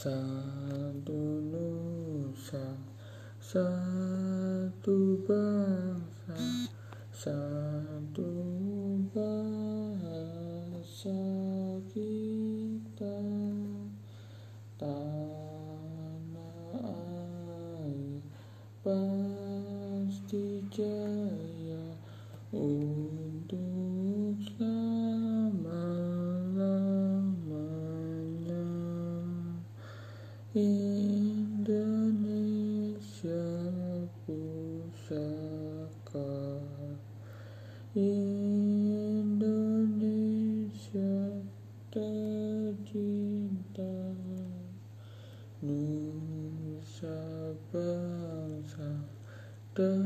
Satu nusa, satu bangsa, satu bahasa kita. Tanah air pasti jaya untuk selama-lamanya. Indonesia pusaka, Indonesia tercinta, nusa bangsa